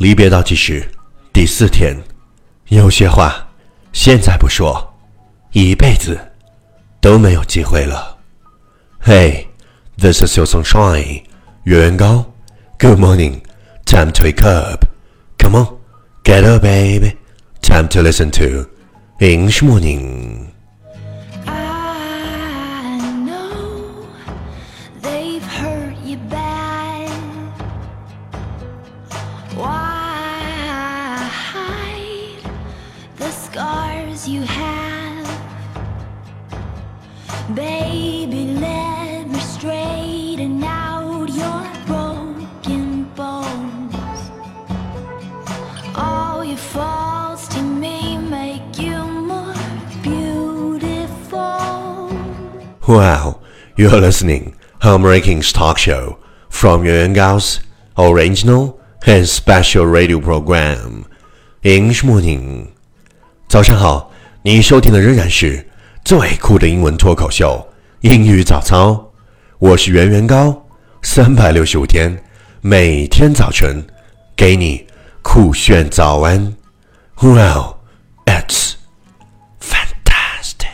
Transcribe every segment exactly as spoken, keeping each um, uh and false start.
离别倒计时第四天，有些话现在不说，一辈子都没有机会了。Hey, this is your sunshine, 月圆高。Good morning, time to wake up. Come on, get up, baby. Time to listen to English Morning. I know they've hurt you bad. Why hide the scars you have? Baby, let me straighten out your broken bones. All your faults to me make you more beautiful. Wow, you're listening Home Rankings Talk Show from Yuan Yuan Gao's original and special radio program English Morning. 早上好，你收听的仍然是最酷的英文脱口秀英语早操，我是袁元高，三百六十五天，每天早晨给你酷炫早安。Wow, it's fantastic.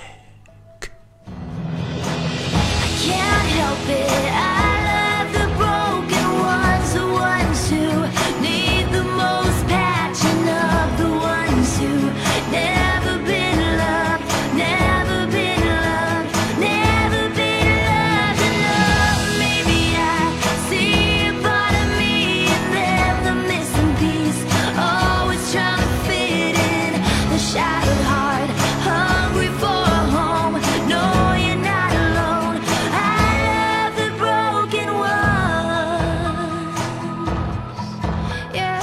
Can't help it, I love the broken ones, the ones who need the most patching up, the ones who never been loved, never been loved, never been loved enough. Maybe I see a part of me in them, the missing piece, always trying to fit in, the shattered heart, hungry for a home. No, you're not alone. I love the broken ones. Yeah.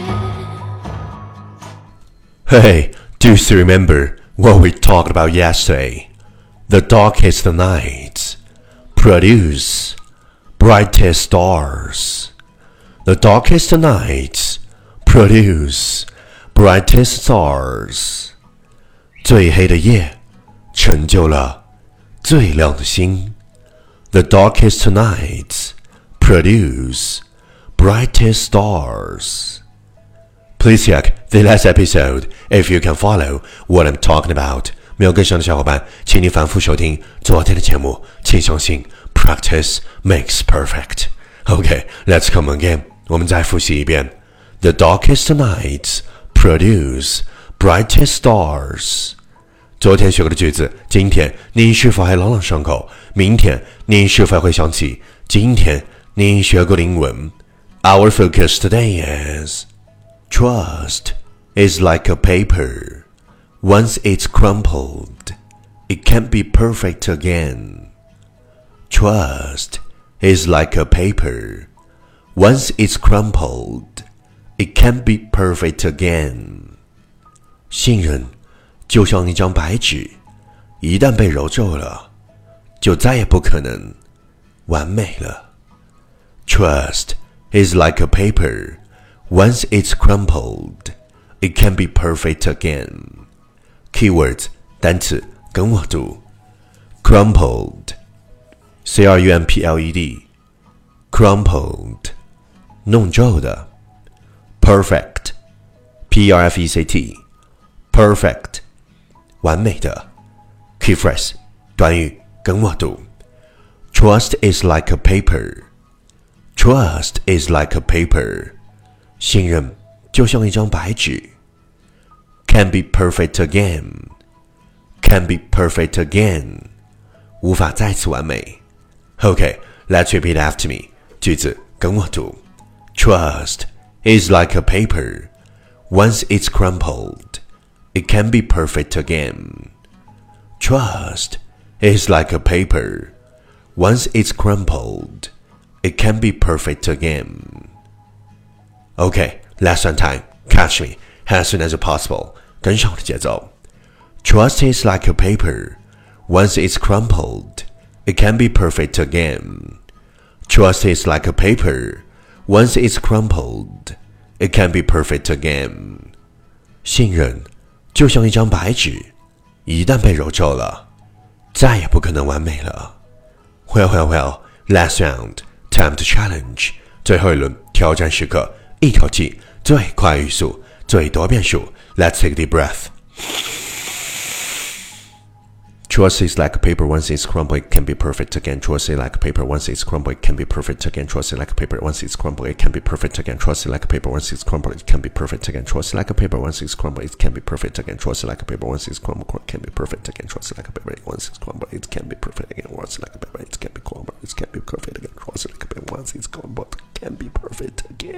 Hey, do you remember what we talked about yesterday? The darkest nights produce brightest stars. The darkest nights produce brightest stars. 最黑的夜成就了最亮的星。The darkest nights produce brightest stars. Please check the last episode if you can follow what I'm talking about. 没有跟上的小伙伴，请你反复收听昨天的节目。请相信 practice makes perfect. Okay, let's come again. 我们再复习一遍。The darkest nights produce brightest stars. 昨天学过的句子，今天你是否还朗朗上口？明天你是否会想起今天你学过的英文？ Our focus today is Trust is like a paper. Once it's crumpled, it can't be perfect again. Trust is like a paper. Once it's crumpled, it can't be perfect again. 信任就像一张白纸，一旦被揉皱了，就再也不可能完美了。Trust is like a paper. Once it's crumpled, it can't be perfect again. Keywords 单词跟我读 Crumpled C R U M P L E D Crumpled 弄皱的 Perfect P R F E C T Perfect 完美的 Key phrase 短语跟我读 Trust is like a paper Trust is like a paper 信任就像一张白纸 Can't be perfect again Can't be perfect again 无法再次完美 Okay, let's repeat after me 句子跟我读 Trust is like a paper Once it's crumpled It can't be perfect again Trust is like a paper Once it's crumpled It can't be perfect again Okay, last one time. Catch me as soon as possible. 跟上我的节奏。Trust is like a paper. Once it's crumpled, it can't be perfect again. Trust is like a paper. Once it's crumpled, it can't be perfect again. 信任就像一张白纸，一旦被揉皱了，再也不可能完美了。Well, well, well. Last round. Time to challenge. 最后一轮挑战时刻。一口气最快语速，最多变数。Let's take a deep breath. Trust is like paper once it's crumbled, it can be perfect again. Trust is like paper once it's crumbled, it can be perfect again. Trust is like paper once it's crumbled, it can be perfect again. Trust is like paper once it's crumbled, it can be perfect again. Trust is like paper once it's crumbled, it can be perfect again. Trust is like paper once it's crumbled, it can be perfect again. Trust is like paper once it's crumbled, it can be perfect again. Trust is like paper, it can be crumbled, it can be perfect again. Trust is like paper once it's crumbled, it can be perfect again.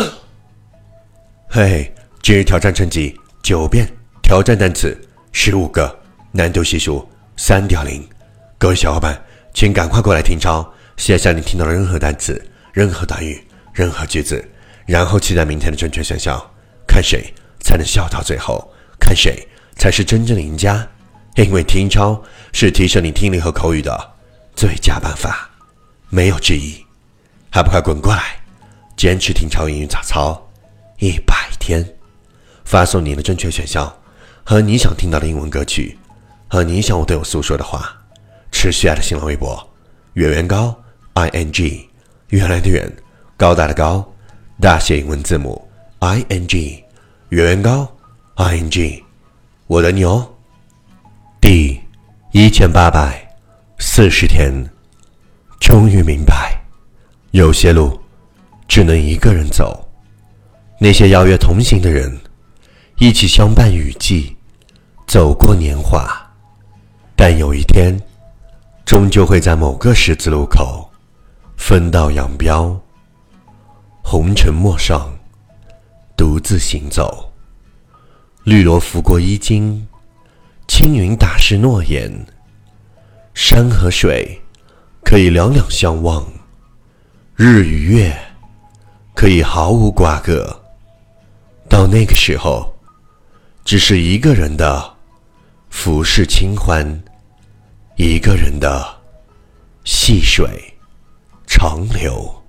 嘿，今日挑战成绩九遍，挑战单词十五个，难度系数三点零。各位小伙伴，请赶快过来听抄，写下你听到的任何单词、任何短语、任何句子，然后期待明天的正确选项，看谁才能笑到最后，看谁才是真正的赢家。因为听抄是提升你听力和口语的最佳办法，没有之一。还不快滚过来，坚持听抄英语早操一百天，发送你的正确选项和你想听到的英文歌曲，和你想我对我诉说的话，持续爱的新浪微博圆圆高 I N G， 原来的圆，高大的高，大写英文字母 I N G， 圆圆高 I N G， 我等你哦。第一千八百四十天，终于明白，有些路只能一个人走。那些邀约同行的人，一起相伴雨季，走过年华，但有一天终究会在某个十字路口分道扬镳。红尘陌上，独自行走，绿萝拂过衣襟，青云打湿诺言。山和水可以两两相望，日与月可以毫无瓜葛。到那个时候，只是一个人的浮世清欢，一个人的细水长流。